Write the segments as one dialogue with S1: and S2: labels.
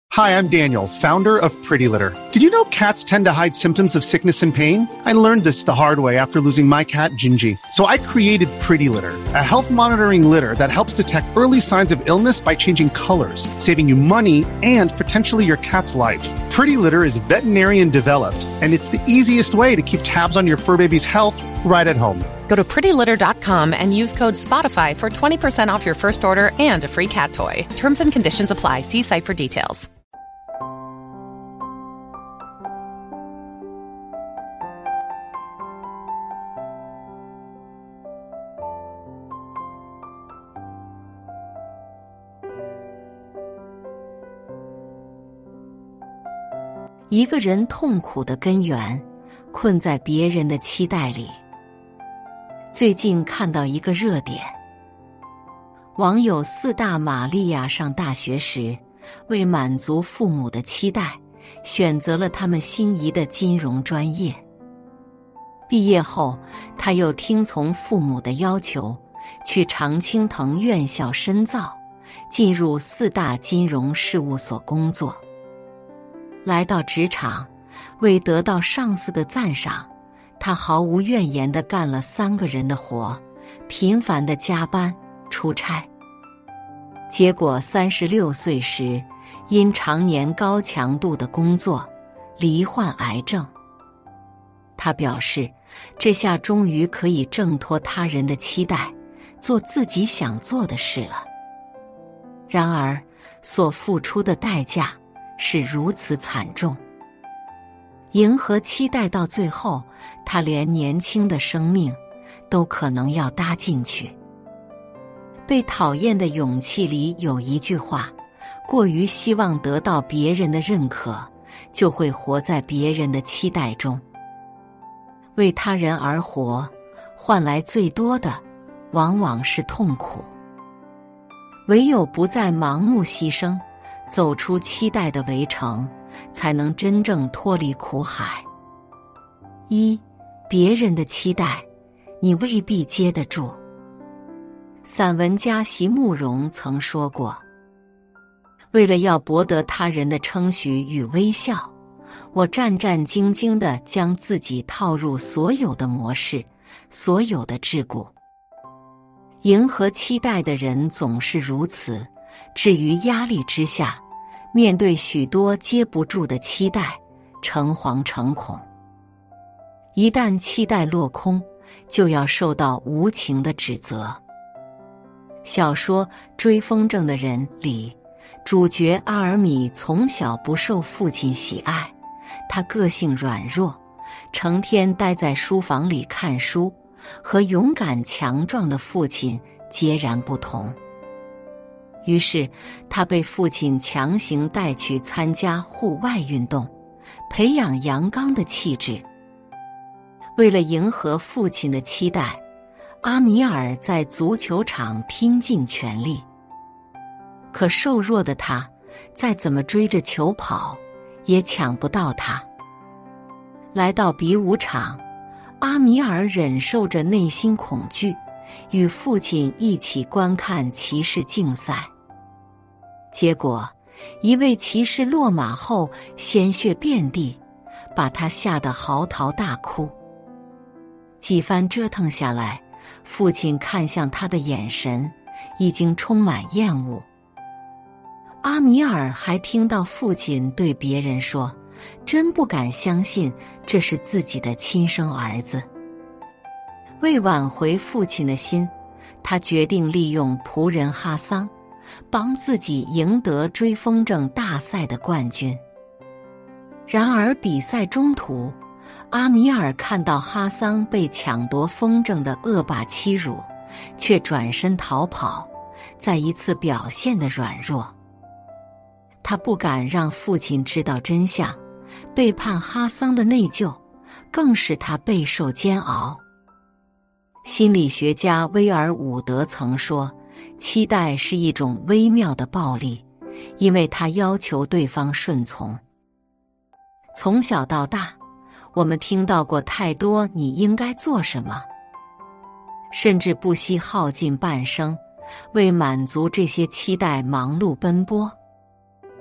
S1: Hi, I'm Daniel, founder of Pretty Litter. Did you know cats tend to hide symptoms of sickness and pain? I learned this the hard way after losing my cat, Gingy. So I created Pretty Litter, a health monitoring litter that helps detect early signs of illness by changing colors, saving you money and potentially your cat's life. Pretty Litter is veterinarian developed, and it's the easiest way to keep tabs on your fur baby's health right at home.
S2: Go to prettylitter.com and use code SPOTIFY for 20% off your first order and a free cat toy. Terms and conditions apply. See site for details.
S3: 一个人痛苦的根源，困在别人的期待里。最近看到一个热点，网友4大玛利亚上大学时，为满足父母的期待，选择了他们心仪的金融专业。毕业后，他又听从父母的要求，去常青藤院校深造，进入4大金融事务所工作。来到职场，为得到上司的赞赏，他毫无怨言地干了3个人的活，频繁地加班出差。结果36岁时，因常年高强度的工作，罹患癌症。他表示，这下终于可以挣脱他人的期待，做自己想做的事了。然而，所付出的代价是如此惨重。迎合期待到最后，他连年轻的生命都可能要搭进去。被讨厌的勇气里有一句话：过于希望得到别人的认可，就会活在别人的期待中。为他人而活，换来最多的往往是痛苦。唯有不再盲目牺牲，走出期待的围城，才能真正脱离苦海。别人的期待，你未必接得住。散文家席慕容曾说过，为了要博得他人的称许与微笑，我战战兢兢地将自己套入所有的模式，所有的桎梏。迎合期待的人总是如此，至于压力之下，面对许多接不住的期待，诚惶诚恐。一旦期待落空，就要受到无情的指责。小说《追风筝的人》里，主角阿尔米从小不受父亲喜爱，他个性软弱，成天待在书房里看书，和勇敢强壮的父亲截然不同。于是他被父亲强行带去参加户外运动，培养阳刚的气质。为了迎合父亲的期待，阿米尔在足球场拼尽全力。可瘦弱的他，再怎么追着球跑，也抢不到他。来到比武场，阿米尔忍受着内心恐惧，与父亲一起观看骑士竞赛。结果，一位骑士落马后鲜血遍地，把他吓得嚎啕大哭。几番折腾下来，父亲看向他的眼神已经充满厌恶。阿米尔还听到父亲对别人说，真不敢相信这是自己的亲生儿子。为挽回父亲的心，他决定利用仆人哈桑，帮自己赢得追风筝大赛的冠军。然而比赛中途，阿米尔看到哈桑被抢夺风筝的恶霸欺辱，却转身逃跑，再一次表现得软弱。他不敢让父亲知道真相，背叛哈桑的内疚更使他备受煎熬。心理学家威尔伍德曾说，期待是一种微妙的暴力，因为它要求对方顺从。从小到大，我们听到过太多你应该做什么，甚至不惜耗尽半生，为满足这些期待忙碌奔波。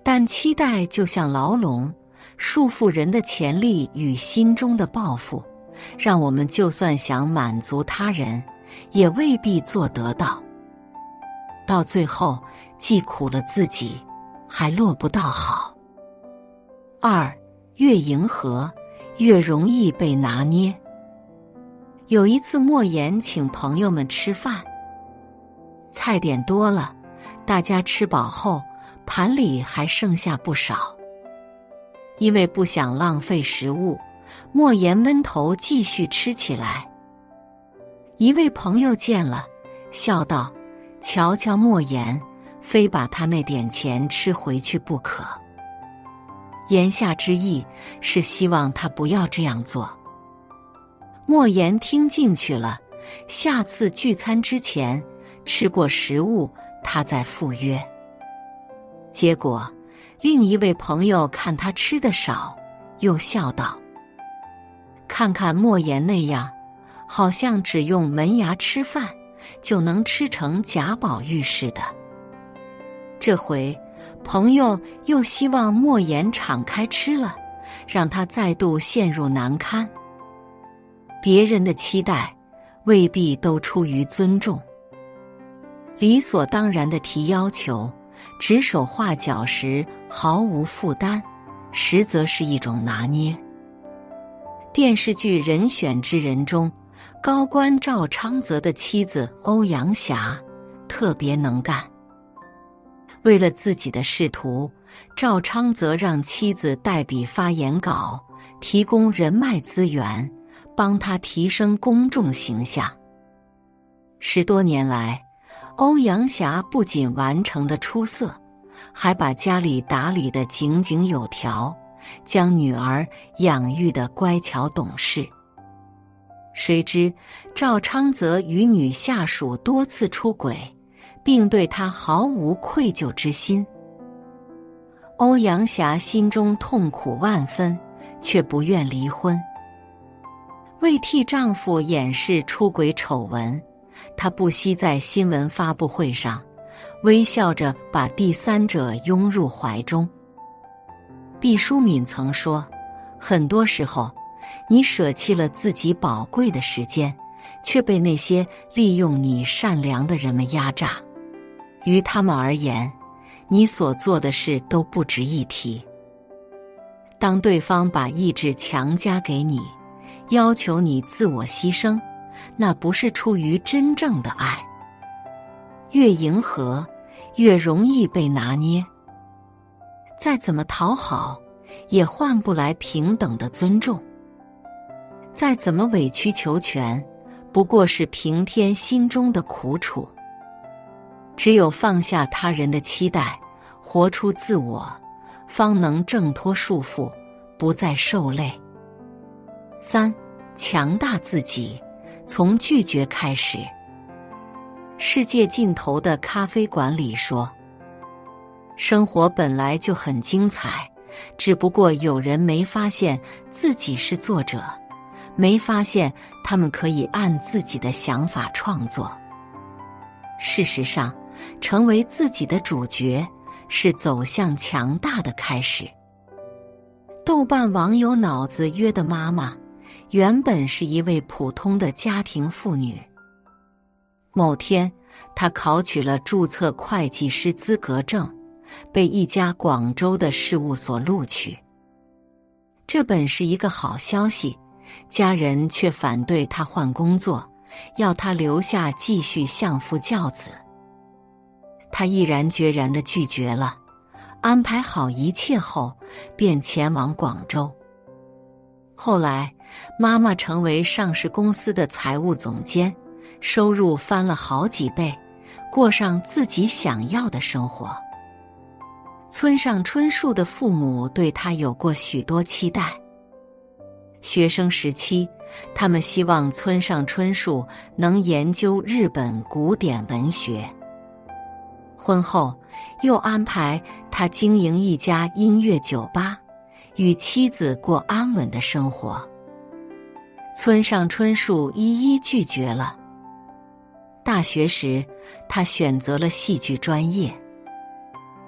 S3: 但期待就像牢笼，束缚人的潜力与心中的抱负，让我们就算想满足他人，也未必做得到。到最后，既苦了自己，还落不到好。2. 越迎合，越容易被拿捏。有一次，莫言请朋友们吃饭，菜点多了，大家吃饱后，盘里还剩下不少。因为不想浪费食物，莫言闷头继续吃起来。一位朋友见了，笑道：“瞧瞧莫言，非把他那点钱吃回去不可。”言下之意是希望他不要这样做。莫言听进去了，下次聚餐之前吃过食物，他再赴约。结果另一位朋友看他吃得少，又笑道：“看看莫言那样，好像只用门牙吃饭就能吃成贾宝玉似的。”这回朋友又希望莫言敞开吃了，让他再度陷入难堪。别人的期待未必都出于尊重，理所当然的提要求，指手画脚时毫无负担，实则是一种拿捏。电视剧《人选之人》中，高官赵昌泽的妻子欧阳霞特别能干。为了自己的仕途，赵昌泽让妻子代笔发言稿，提供人脉资源，帮他提升公众形象。10多年来，欧阳霞不仅完成得出色，还把家里打理得井井有条，将女儿养育得乖巧懂事。谁知赵昌泽与女下属多次出轨，并对他毫无愧疚之心。欧阳霞心中痛苦万分，却不愿离婚。为替丈夫掩饰出轨丑闻，她不惜在新闻发布会上微笑着把第三者拥入怀中。毕淑敏曾说，很多时候你舍弃了自己宝贵的时间，却被那些利用你善良的人们压榨。于他们而言，你所做的事都不值一提。当对方把意志强加给你，要求你自我牺牲，那不是出于真正的爱。越迎合，越容易被拿捏。再怎么讨好，也换不来平等的尊重。再怎么委曲求全，不过是平添心中的苦楚。只有放下他人的期待，活出自我，方能挣脱束缚，不再受累。3. 强大自己，从拒绝开始。世界尽头的咖啡馆里说，生活本来就很精彩，只不过有人没发现自己是作者，没发现他们可以按自己的想法创作。事实上，成为自己的主角，是走向强大的开始。豆瓣网友脑子约的妈妈，原本是一位普通的家庭妇女。某天，她考取了注册会计师资格证，被一家广州的事务所录取。这本是一个好消息，家人却反对她换工作，要她留下继续相夫教子。她毅然决然地拒绝了，安排好一切后，便前往广州。后来，妈妈成为上市公司的财务总监，收入翻了好几倍，过上自己想要的生活。村上春树的父母对他有过许多期待。学生时期，他们希望村上春树能研究日本古典文学。婚后，又安排他经营一家音乐酒吧，与妻子过安稳的生活。村上春树一一拒绝了。大学时，他选择了戏剧专业。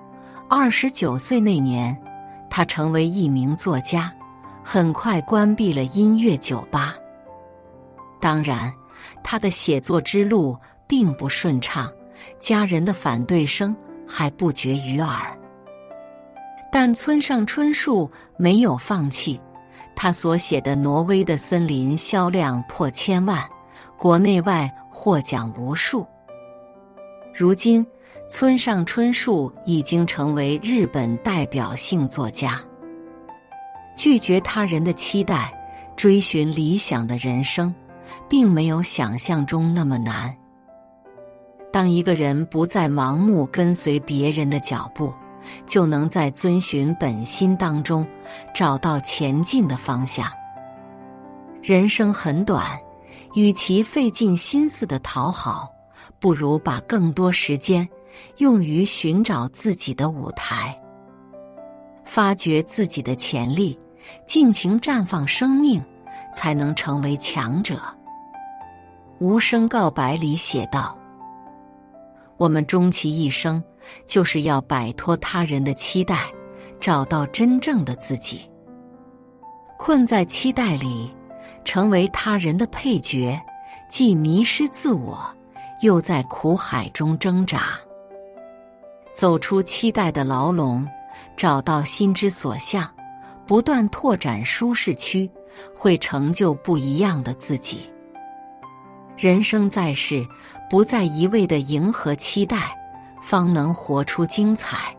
S3: 29岁那年，他成为一名作家，很快关闭了音乐酒吧。当然，他的写作之路并不顺畅，家人的反对声还不绝于耳。但村上春树没有放弃，他所写的《挪威的森林》销量破1000万，国内外获奖无数。如今，村上春树已经成为日本代表性作家。拒绝他人的期待，追寻理想的人生，并没有想象中那么难。当一个人不再盲目跟随别人的脚步，就能在遵循本心当中找到前进的方向。人生很短，与其费尽心思的讨好，不如把更多时间用于寻找自己的舞台，发掘自己的潜力，尽情绽放生命，才能成为强者。无声告白里写道，我们终其一生，就是要摆脱他人的期待，找到真正的自己。困在期待里，成为他人的配角，既迷失自我，又在苦海中挣扎。走出期待的牢笼，找到心之所向，不断拓展舒适区，会成就不一样的自己。人生在世，不再一味地迎合期待，方能活出精彩。